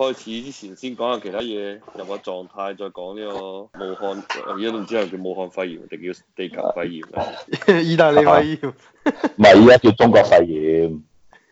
開始之前先講下其他嘢，入個狀態，再講呢個武漢，而家都唔知係叫武漢肺炎定叫地球肺炎啊？ 意大利肺炎， 唔係依家叫中國肺炎。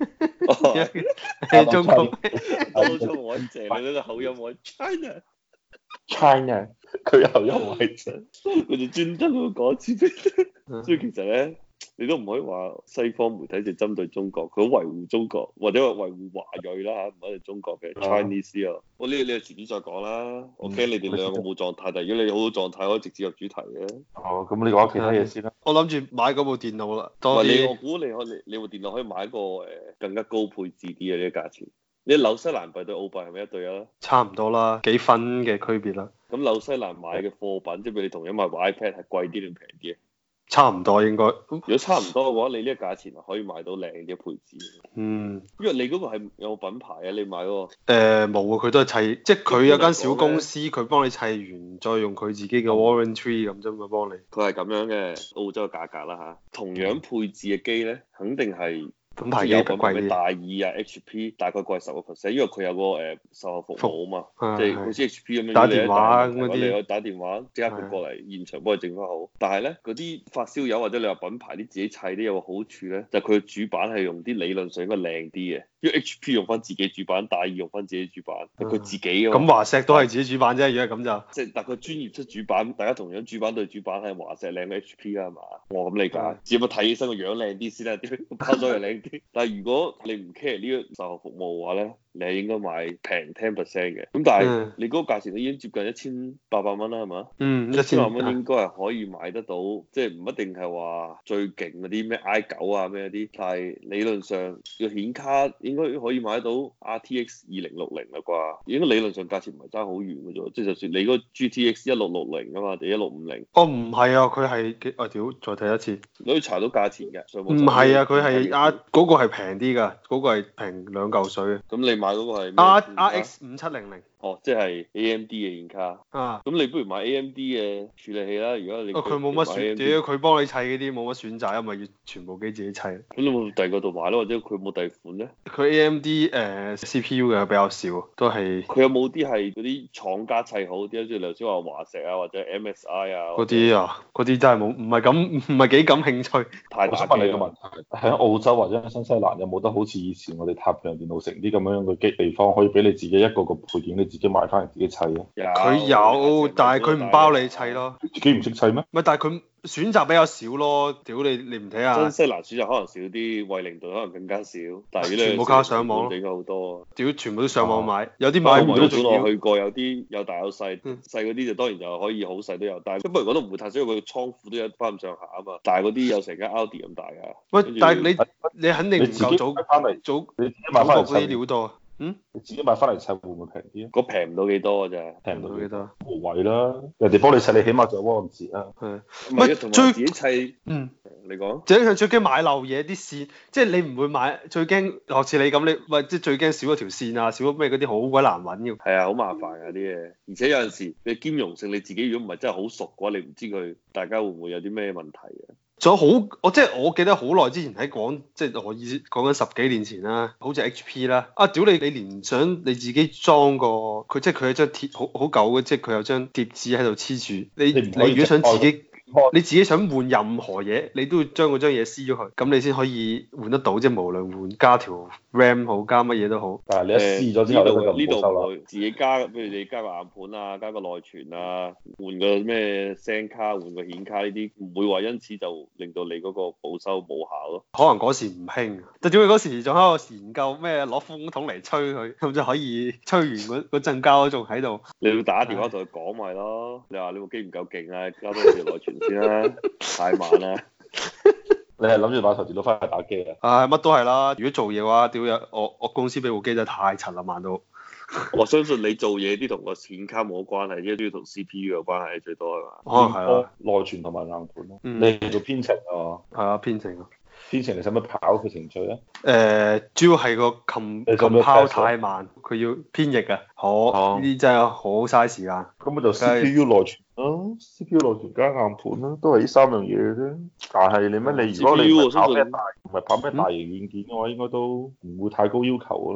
係中國。 多咗我一謝你呢個口音，我 China， 佢又因為佢就專登咁講一次俾你。所以其實咧，你都唔可以話西方媒體就針對中國，佢好維護中國，或者話維護華裔啦嚇，唔係中國嘅 Chinese 啊。我呢個遲啲再講啦。我驚你哋兩個冇狀態，但係如果你好好狀態，可以直接入主題嘅。 哦，咁你講其他嘢先啦。 我諗住買嗰部電腦啦。 唔係你，我估你部電腦可以買個更加高配置啲嘅呢個價錢。你紐西蘭幣對澳幣係咪一對啊？ 差唔多啦，幾分嘅區別啦。 咁紐西蘭買嘅貨品，即係譬如你同樣買部 iPad 係貴啲定平啲啊？ 差唔多應該。 如果差唔多嘅話，你呢個價錢可以買到靚啲配置。 嗯。 因為你嗰個係有品牌啊，你買嗰個。 冇啊，佢都係砌，即係佢有間小公司，佢幫你砌完，再用佢自己嘅 warranty 咁啫嘛，幫你。 佢係咁樣嘅澳洲嘅價格啦嚇，同樣配置嘅機咧，肯定係。 品牌機有品牌貴啲， 大耳啊 HP 大概貴10%，因為佢有個售後服務啊嘛，即係好似 HP 咁樣， 打電話嗰啲， 你可以打電話即刻佢過嚟現場幫你整翻好。但係咧嗰啲發燒友或者你話品牌啲自己砌啲有個好處咧，就係佢嘅主板係用啲理論上應該靚啲嘅，因為 HP 用翻自己主板，大耳用翻自己主板，係佢自己嘅。 咁華碩都係自己主板啫，如果係咁就。 即係但係佢專業出主板，大家同樣主板對主板係華碩靚過 HP 啊係嘛？我咁理解，只不過睇起身個樣靚啲先啦，點包裝又靚啲。但係如果你唔 care 呢個售後服務嘅話咧，你係應該買平 10% 嘅。咁但係你嗰個價錢都已經接近1800蚊啦，係嘛？1000蚊應該係可以買得到，即係唔一定係話最勁嗰啲咩 i9啊咩啲，但係理論上個顯卡應該可以買得到 RTX 2060啦啩，應該理論上價錢唔係爭好遠嘅啫，即係就算你嗰個 GTX 1660啊嘛，定1650。 哦，唔係啊，佢係我屌，再睇一次， 你可以查到價錢嘅。 唔係啊，佢係嗰個係平啲㗎，嗰個係平2嚿水嘅。 咁你買嗰個係 RX 5700。 哦，即係 AMD 嘅顯卡。 啊。 咁你不如買 AMD 嘅處理器啦。如果你佢冇乜選，屌佢幫你砌嗰啲冇乜選擇，因為要全部機自己砌。咁你冇第二個度買咯，或者佢冇第二款咧？ 佢 AMD CPU 嘅比較少，都係。 佢有冇啲係嗰啲廠家砌好啲？即係頭先話華碩啊，或者 MSI 啊。 嗰啲啊，嗰啲真係冇，唔係幾感興趣。 太大。 我想問你個問題，喺澳洲或者喺新西蘭有冇得好似以前我哋太平洋電腦城啲咁樣嘅地方，可以俾你自己一個配件，你自己買翻嚟自己砌啊？ 佢有，但係佢唔包你砌咯。 自己唔識砌咩？ 唔係，但係佢選擇比較少咯。屌你唔睇下。 新西蘭選擇可能少啲，惠靈頓可能更加少。但係全部靠上網， 應該好多。 屌，全部都上網買，有啲買唔到仲要。 我去過，有啲有大有細，細嗰啲就當然就可以好細都有，但係不過我都唔會太少，因為佢倉庫都有翻咁上下啊嘛。大嗰啲有成間 Audi 咁大㗎。 喂，但係你肯定唔夠早翻嚟，你自己買翻嚟嗰啲料多。你自己買翻嚟砌會唔會平啲啊？ 嗰平唔到幾多㗎啫， 平唔到幾多？無謂啦，人哋幫你砌，你起碼仲有汪字啊。 係， 唔係同埋自己砌。你講。 最驚買漏嘢啲線，即係你唔會買，最驚學似你咁，你喂即係最驚少咗條線啊，少咗咩嗰啲好鬼難揾嘅。 係啊，好麻煩㗎啲嘢，而且有陣時你兼容性你自己如果唔係真係好熟嘅話，你唔知佢大家會唔會有啲咩問題嘅。 仲有我記得好耐之前喺即係我講緊10幾年前啦，好似 HP 啦，屌你連想你自己裝個佢，即係佢有張貼好舊嘅，即係佢有張貼紙喺度黐住，你如果想自己。你自己想換任何嘢，你都要將嗰張嘢撕咗佢，咁你先可以換得到，即係無論換加條 RAM 好，加乜嘢都好。 但係你一撕咗之後， 呢度自己加，譬如你加個硬盤啊，加個內存啊，換個咩聲卡，換個顯卡呢啲，唔會話因此就令到你嗰個保修冇效咯。 可能嗰時唔興，但點解嗰時仲喺度研究咩攞風筒嚟吹佢，咁就可以吹完嗰陣膠仲喺度。 你要打電話同佢講咪咯，你話你部機唔夠勁啊，加多條內存先啦，太慢啦。 你係諗住買台電腦翻去打機啊？ 乜都係啦。如果做嘢嘅話，屌我公司俾部機真係太柒啦，慢到。 我相信你做嘢啲同個顯卡冇關係，因為都要同 CPU 有關係最多係嘛？ 係啊， 內存同埋硬盤咯。你係做編程啊？ 係啊，編程啊。 編程你使乜跑佢程序啊？ 主要係個compile太慢，佢要編譯啊。呢啲真係好嘥時間。 咁咪就 CPU 內存咯，CPU 內存加硬盤啦，都係呢3樣嘢嘅啫。但係你如果你唔係跑咩大型軟件嘅話，應該都唔會太高要求噶啦。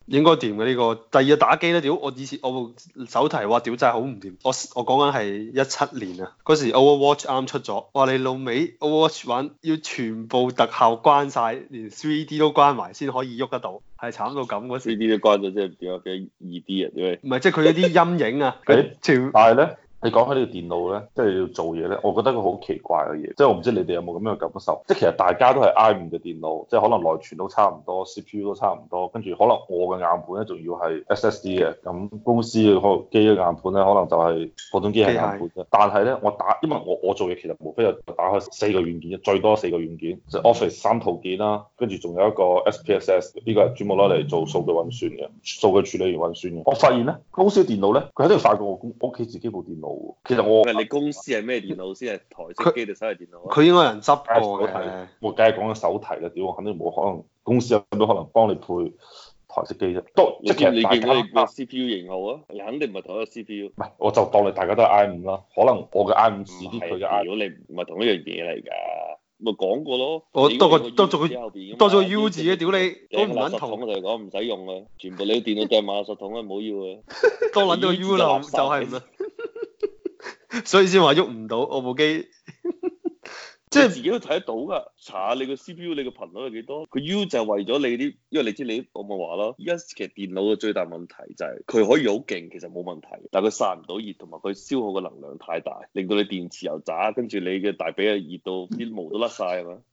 應該掂嘅呢個。第二個打機咧，屌我以前我部手提哇，屌真係好唔掂。我講緊係17年啊，嗰時 Overwatch 啱出咗，哇你老味 Overwatch 玩要全部特效關晒，連 3D 都關埋先可以喐得到，係慘到咁嗰時。 3D 都關咗，即係點啊？幾 2D 啊？點解？ 唔係，即係佢有啲陰影啊， 但係咧。你講起呢個電腦咧，即係你要做嘢咧，我覺得個好奇怪嘅嘢，即係我唔知你哋有冇咁樣嘅感受，即係其實大家都係 i5嘅電腦，即係可能內存都差唔多，CPU 都差唔多，跟住可能我嘅硬盤咧仲要係 SSD 嘅，咁公司嘅機嘅硬盤咧可能就係普通機械硬盤啫。但係咧因為我做嘢其實無非就打開4個軟件，最多4個軟件，即係 Office 3套件啦，跟住仲有一個 SPSS，呢個係專門攞嚟做數據運算嘅，數據處理員運算嘅。我發現咧，公司嘅電腦咧，佢喺度快過我屋企自己部電腦。其實你公司係咩電腦先？係台式機定手提電腦啊？ 佢應該有人執過嘅。 我梗係講緊手提啦，屌我肯定冇可能，公司有冇可能幫你配台式機啫？都即係其實大家你見到你個 CPU 型號啊？你肯定唔係同一個 CPU。 唔係，我就當你大家都係 I5啦，可能我嘅 I5試啲，佢嘅 I。 如果你唔係同一樣嘢嚟㗎，咪講過咯。 我多咗個 U 字嘅，屌你都唔撚同。 我就講唔使用啊，全部你電腦掟埋垃圾桶啊，唔好要啊。 多撚到 U 啦，就係唔得。所以先話喐唔到我部機， 即係自己都睇得到噶。查下你個 CPU 你個頻率係幾多？佢 U 就係為咗你啲，因為你知你我咪話咯。依家其實電腦嘅最大問題就係佢可以好勁，其實冇問題，但係佢散唔到熱，同埋佢消耗嘅能量太大，令到你電池又渣，跟住你嘅大髀啊熱到啲毛都甩晒係嘛？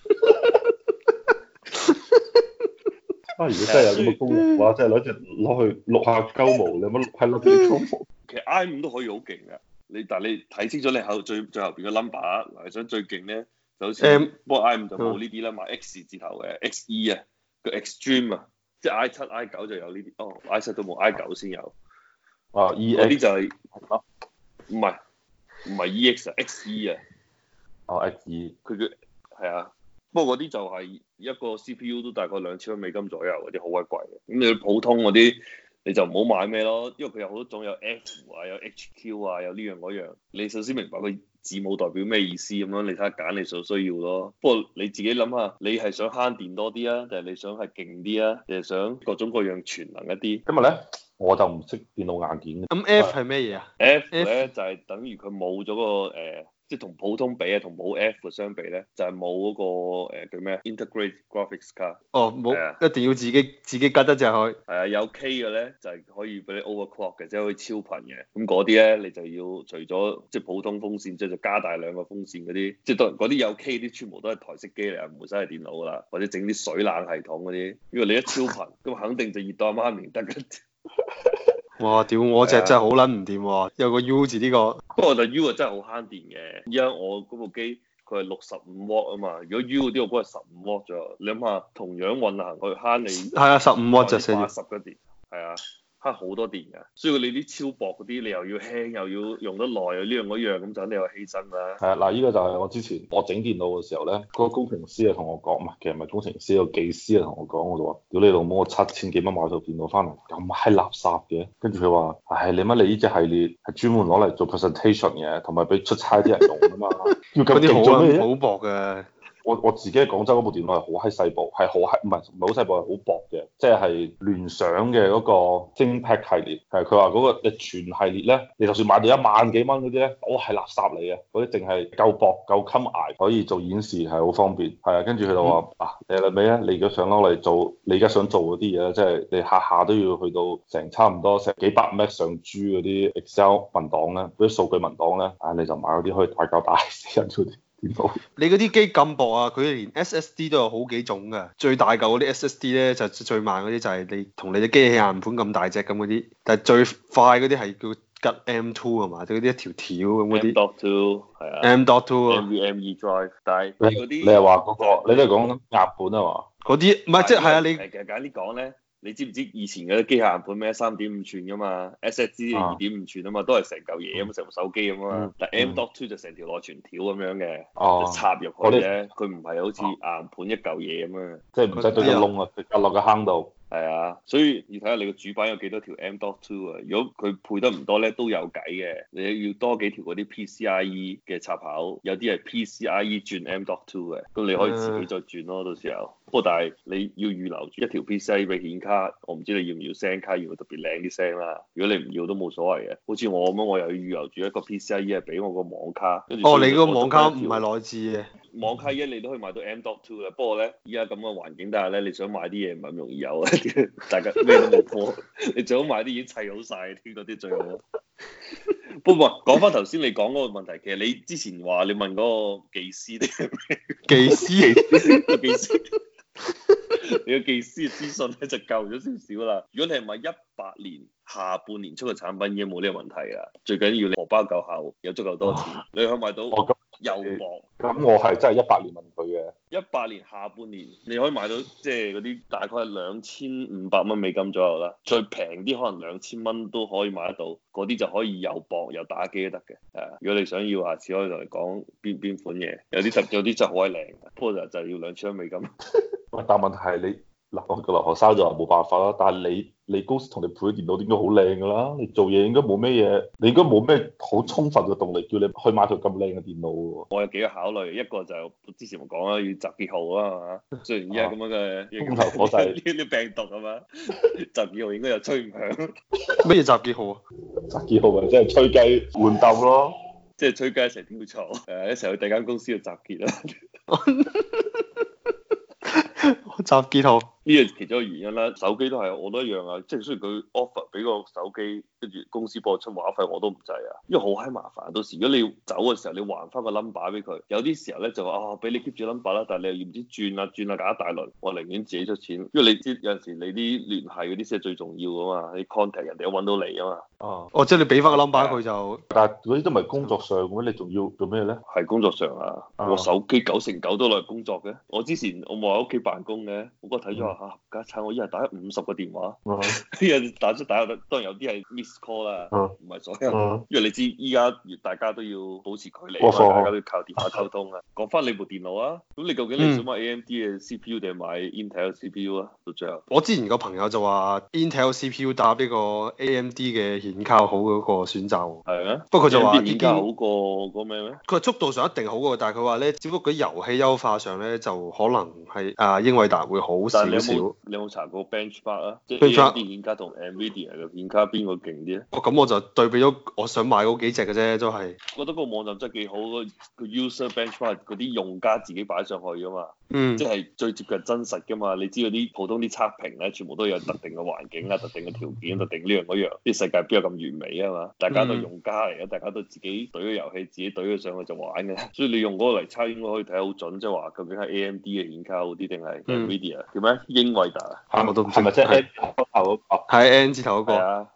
如果真係有咁嘅功能嘅話，真係攞去錄下鳩毛，你乜係攞啲鳩毛？ 其實 i5 都可以好勁噶。但係你睇清楚你最後邊個 number，嗱你想最勁咧，就好似不過 i5 就冇呢啲啦，買 X 字頭嘅 XE 啊，個 Extreme 啊，即係 i7 i9 就有呢啲，哦 i7 都冇 i9 先有， 啊 EX 嗰啲就係唔係 EX 啊 XE 啊， 哦 XE 佢嘅係啊，不過嗰啲就係一個 CPU 都大概$2000左右，嗰啲好鬼貴嘅，咁你普通嗰啲。你就唔好買咩咯，因為佢有好多種，有 F 啊，有 HQ 啊，有呢樣嗰樣。你首先明白佢字母代表咩意思咁樣，你睇下揀你所需要咯。不過你自己諗下，你係想慳電多啲啊，定係你想係勁啲啊，定係想各種各樣全能一啲？ 今日咧我就唔識電腦硬件。 咁 F 係咩嘢啊 ？F 咧就係等於佢冇咗個即係同普通比啊，同冇 F 嘅相比咧，就係冇嗰個叫咩 Integrated Graphics Card。 哦，冇，一定要自己吉得隻佢。 係啊，有 K 嘅咧就係可以俾你 overclock 嘅，即係可以超頻嘅。咁嗰啲咧你就要除咗即係普通風扇，即係就加大兩個風扇嗰啲，即係當然嗰啲有 K 啲全部都係台式機嚟，唔會真係電腦噶啦，或者整啲水冷系統嗰啲。因為你一超頻，咁肯定就熱到阿媽唔得嘅。 哇！屌我隻真係好撚唔掂喎，有個 U 字呢個。 不過就 U 啊真係好慳電嘅，而家我嗰部機佢係65瓦啊嘛，如果 U 嗰啲我估係15瓦左右，你諗下同樣運行佢慳你係啊15瓦就 80嘅電，係啊。慳好多電㗎，所以你啲超薄嗰啲，你又要輕又要用得耐，又呢樣嗰樣，咁就肯定有犧牲啦。 係啊，嗱，呢個就係我之前我整電腦嘅時候咧，嗰個工程師啊同我講，唔係，其實唔係工程師，個技師啊同我講，我就話：屌你老母，我7000幾蚊買套電腦翻嚟，咁閪垃圾嘅。跟住佢話：唉，你乜你呢隻系列係專門攞嚟做 presentation 嘅，同埋俾出差啲人用啊嘛。要咁勁做咩啫？ 好薄嘅。 我自己喺廣州嗰部電腦係好閪細部，係好閪唔係好細部，係好薄嘅，即係聯想嘅嗰個精 Pad 系列，係佢話嗰個你全系列咧，你就算買到1萬幾蚊嗰啲咧，都係垃圾嚟嘅，嗰啲淨係夠薄夠襟捱，可以做演示係好方便，係啊，跟住佢就話你係咪啊？你而家想攞嚟做，你而家想做嗰啲嘢咧，即係你下下都要去到差唔多成幾百 M 上 G 嗰啲 Excel 文檔咧，嗰啲數據文檔咧，你就買嗰啲可以大嚿大死人嗰啲。 你嗰啲機咁薄啊，佢連 SSD 都有好幾種㗎，最大嚿嗰啲 SSD 咧就最慢嗰啲就係你同你嘅機器硬盤咁大隻咁嗰啲，但係最快嗰啲係叫吉 M2 啊嘛，即係嗰啲一條條咁嗰啲。 M.2 係啊。 M.2 啊。 NVMe drive，但係嗰啲你係話嗰個，你都係講硬盤啊嘛？ 嗰啲唔係即係啊，你其實簡單啲講咧。你知唔知以前嗰啲機械硬盤咩3.5寸噶嘛 ？SSD 2.5寸啊嘛，都係成嚿嘢咁，成部手機咁啊。但 M.2 就成條內存條咁樣嘅，就插入去嘅。佢唔係好似硬盤一嚿嘢咁啊。 即係唔使對個窿啊，直接落個坑度。 係啊，所以要睇下你個主板有幾多條 M.2 啊。如果佢配得唔多咧，都有計嘅。你要多幾條嗰啲 PCIe 嘅插口，有啲係 PCIe 轉 M.2 嘅，咁你可以自己再轉咯，到時候。不過但係你要預留住一條 PCIe 俾顯卡，我唔知你要唔要聲卡，要唔要特別靚啲聲啦。如果你唔要都冇所謂嘅。好似我咁樣，我又要預留住一個 PCIe 係俾我個網卡。 哦，你個網卡唔係內置嘅。 網卡一你都可以買到 M.2 嘅，不過咧依家咁嘅環境底下咧，你想買啲嘢唔係咁容易有啊！大家咩都冇貨，你最好買啲已經砌好晒嗰啲最好。不過講翻頭先你講嗰個問題，其實你之前話你問嗰個技師定係咩？ 技師， 個技師，你個技師嘅資訊咧就夠咗少少啦。如果你係買18年下半年出嘅產品，已經冇呢個問題啊。最緊要你荷包夠厚，有足夠多錢，你可以買到又薄。 咁我係真係18年問佢嘅。 18年下半年你可以買到即係嗰啲大概係2500蚊美金左右啦，最平啲可能2000蚊都可以買得到，嗰啲就可以又薄又打機都得嘅。如果你想要，下次可以同你講邊款嘢，有啲真係好鬼靚，不過就要2000蚊美金。 但問題係你嗱，我個留學生就話冇辦法啦。但係你公司同你配嘅電腦應該好靚㗎啦，你做嘢應該冇咩嘢，你應該冇咩好充分嘅動力叫你去買台咁靚嘅電腦喎。 我有幾個考慮，一個就之前我講啦，要集結號啊嘛。雖然依家咁樣嘅風頭火勢呢啲病毒啊嘛，集結號應該又吹唔響。 乜嘢集結號啊？ 集結號咪即係吹雞換鬥咯， 即係吹雞成條嘈，一齊去第二間公司去集結啦。 集結號呢個其中一個原因啦，手機都係我都一樣啊，即係雖然佢 offer 俾個手機，跟住公司幫我出話費我都唔制啊，因為好閪麻煩。到時如果你要走嘅時候，你還翻個 number 俾佢，有啲時候咧就話啊，俾你 keep 住 number 啦，但係你又要唔知轉啊搞一大輪，我寧願自己出錢，因為你知有陣時你啲聯繫嗰啲先係最重要噶嘛，你 contact 人哋都揾到你啊嘛。 哦，即係你俾翻個 number 佢就， 但係嗰啲都唔係工作上嘅，你仲要做咩咧？ 係工作上啊，我手機9成9都攞嚟工作嘅。我之前我冇喺屋企辦公嘅，我嗰日睇咗話嚇，家產我一日打50個電話，一日打出打入，當然有啲係 miss call 啦，唔係所有，因為你知依家大家都要保持距離啊嘛，大家都要靠電話溝通啊。講翻你部電腦啊，咁你究竟你想買 AMD 嘅 CPU 定係買 Intel CPU 啊？到最後， 我之前個朋友就話 Intel CPU 搭呢個 AMD 嘅顯卡好嗰個選擇， 係啊， 不過佢就話顯卡好過嗰個咩咩？ 佢話速度上一定好過，但係佢話咧，只不過喺遊戲優化上咧就可能係英偉達會好少少。 你有冇查過 benchmark 啊？即係 AMD 顯卡同 NVIDIA 嘅顯卡邊個勁啲咧？ 咁我就對比咗我想買嗰幾隻嘅啫，都係。 覺得個網站真係幾好，個 user benchmark 嗰啲用家自己擺上去噶嘛，即係最接近真實噶嘛。你知嗰啲普通啲測評咧，全部都有特定嘅環境啊、特定嘅條件、特定呢樣嗰樣。啲世界邊有咁完美啊嘛？大家都係用家嚟嘅，大家都自己懟個遊戲，自己懟佢上去就玩嘅。所以你用嗰個嚟測應該可以睇得好準，即係話究竟係 AMD 嘅顯卡好啲定係 NVIDIA 叫咩？英偉達啊？ 我都唔知係咪即係 N 字頭嗰個？ 係 N 字頭嗰個。 係啊。